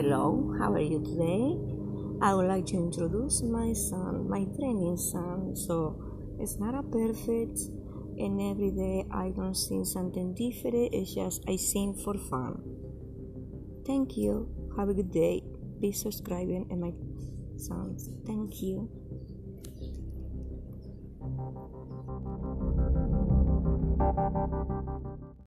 Hello, how are you today? I would like to introduce my son, my training son. So it's not a perfect, and every day I don't sing something different. It's just I sing for fun. Thank you. Have a good day. Be subscribing and my songs. Thank you.